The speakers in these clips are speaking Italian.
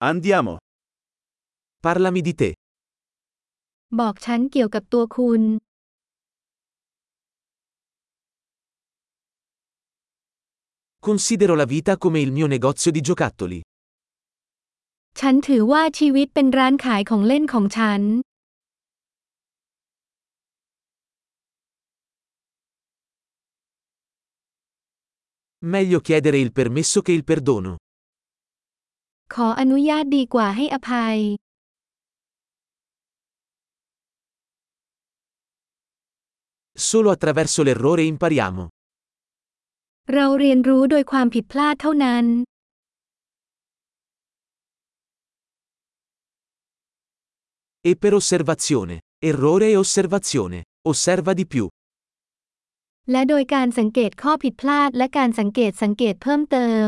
Andiamo. Parlami di te. บอกฉันเกี่ยวกับตัวคุณ Considero la vita come il mio negozio di giocattoli. ฉันถือว่าชีวิตเป็นร้านขายของเล่นของฉัน Meglio chiedere il permesso che il perdono. ขออนุญาตดีกว่าให้อภัย Solo attraverso l'errore impariamo. เราเรียนรู้โดยความผิดพลาดเท่านั้น E per osservazione. Errore e osservazione. Osserva di più. และโดยการสังเกตข้อผิดพลาดและการสังเกตเพิ่มเติม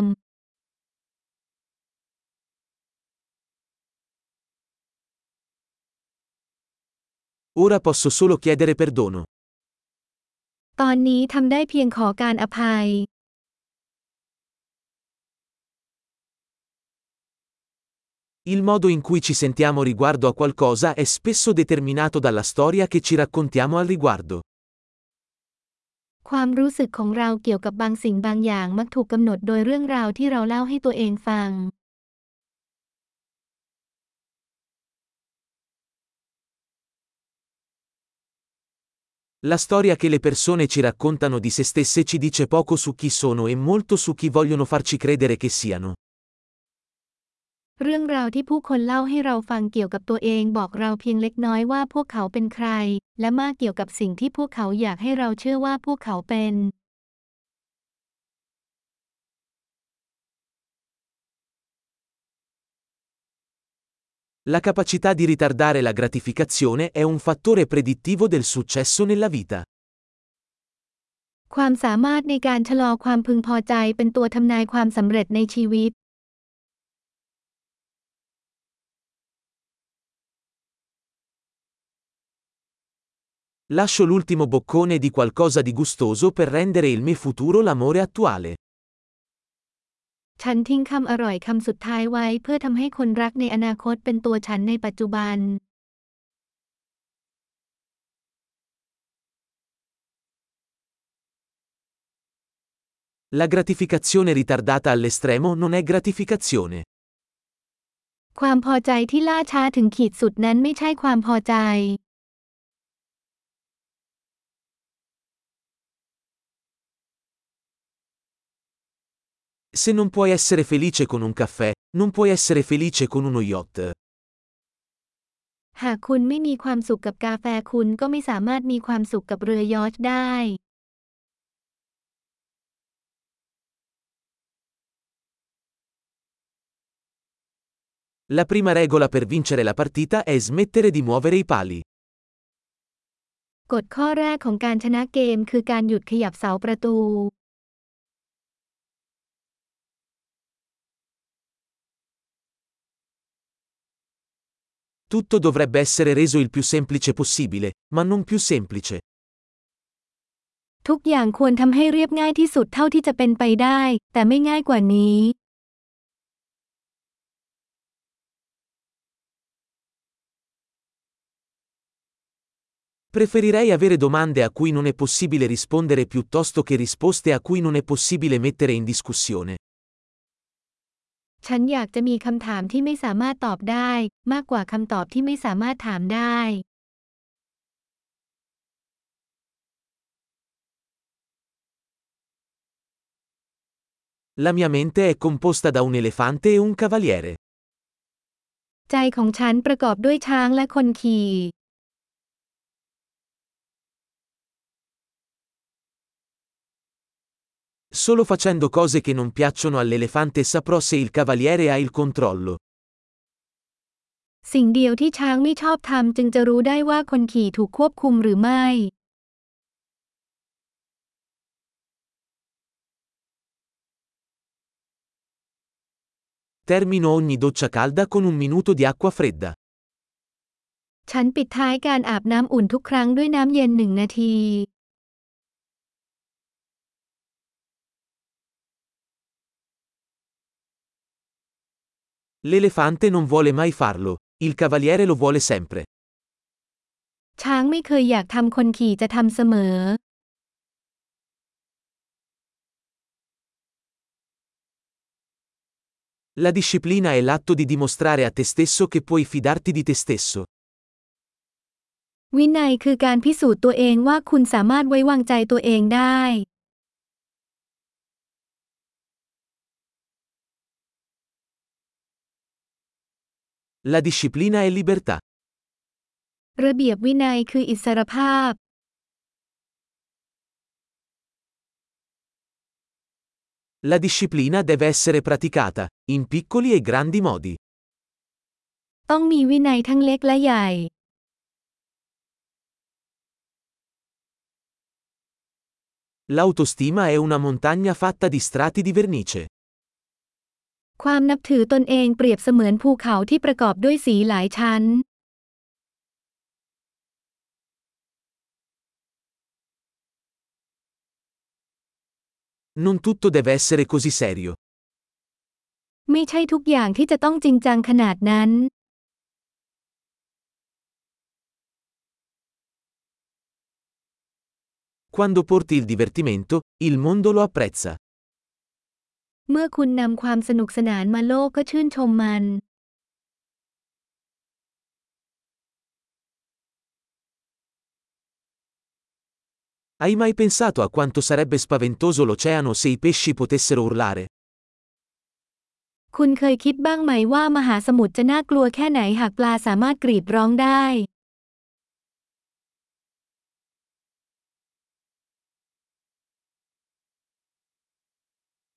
Ora posso solo chiedere perdono. ตอนนี้ทำได้เพียงขอการอภัย Il modo in cui ci sentiamo riguardo a qualcosa è spesso determinato dalla storia che ci raccontiamo al riguardo. ความรู้สึกของเราเกี่ยวกับบางสิ่งบางอย่างมักถูกกำหนดโดยเรื่องราวที่เราเล่าให้ตัวเองฟัง La storia che le persone ci raccontano di se stesse ci dice poco su chi sono e molto su chi vogliono farci credere che siano. เรื่องราวที่ผู้คนเล่าให้เราฟังเกี่ยวกับตัวเองบอกเราเพียงเล็กน้อยว่าพวกเขาเป็นใคร และมากเกี่ยวกับสิ่งที่พวกเขาอยากให้เราเชื่อว่าพวกเขาเป็น La capacità di ritardare la gratificazione è un fattore predittivo del successo nella vita. ความสามารถในการชะลอความพึงพอใจเป็นตัวทำนายความสำเร็จในชีวิต Lascio l'ultimo boccone di qualcosa di gustoso per rendere il mio futuro l'amore attuale. ฉันทิ้งคำอร่อยคำสุดท้ายไว้เพื่อทำให้คนรักในอนาคตเป็นตัวฉันในปัจจุบัน La gratificazione ritardata all'estremo non è gratificazione. ความพอใจที่ล่าช้าถึงขีดสุดนั้นไม่ใช่ความพอใจ Se non puoi essere felice con un caffè, non puoi essere felice con uno yacht. หากคุณไม่มีความสุขกับกาแฟคุณก็ไม่สามารถมีความสุขกับเรือยอชท์ได้ La prima regola per vincere la partita è smettere di muovere i pali. กฎข้อแรกของการชนะเกมคือการหยุดขยับเสาประตู Tutto dovrebbe essere reso il più semplice possibile, ma non più semplice. ทุกอย่างควรทำให้เรียบง่ายที่สุดเท่าที่จะเป็นไปได้ แต่ไม่ง่ายกว่านี้ Preferirei avere domande a cui non è possibile rispondere piuttosto che risposte a cui non è possibile mettere in discussione. ฉันอยากจะมีคำถามที่ไม่สามารถตอบได้ มากกว่าคำตอบที่ไม่สามารถถามได้ La mia mente è composta da un elefante e un cavaliere. ใจของฉันประกอบด้วยช้างและคนขี่ Solo facendo cose che non piacciono all'elefante saprò se il cavaliere ha il controllo. สิ่งเดียวที่ช้างไม่ชอบทำจึงจะรู้ได้ว่าคนขี่ถูกควบคุมหรือไม่ Termino ogni doccia calda con un minuto di acqua fredda. ฉันปิดท้ายการอาบน้ำอุ่นทุกครั้งด้วยน้ำเย็น1 นาที L'elefante non vuole mai farlo, il cavaliere lo vuole sempre. ช้างไม่เคยอยากทำคนขี่จะทำเสมอ La disciplina è l'atto di dimostrare a te stesso che puoi fidarti di te stesso. วินัยคือการพิสูจน์ตัวเองว่าคุณสามารถไว้วางใจตัวเองได้ La disciplina è libertà. ระเบียบวินัยคืออิสรภาพ La disciplina deve essere praticata, in piccoli e grandi modi. ต้องมีวินัยทั้งเล็กและใหญ่ L'autostima è una montagna fatta di strati di vernice. ความนับถือตนเองเปรียบเสมือนภูเขาที่ประกอบด้วยสีหลายชั้น Non tutto deve essere così serio. ไม่ใช่ทุกอย่างที่จะต้องจริงจังขนาดนั้น Quando porti il divertimento, il mondo lo apprezza. เมื่อคุณนำความสนุกสนานมาโลกก็ชื่นชมมัน Hai mai pensato a quanto sarebbe spaventoso l'oceano se i pesci potessero urlare? คุณเคยคิดบ้างไหมว่ามหาสมุทรจะน่ากลัวแค่ไหนหากปลาสามารถกรีดร้องได้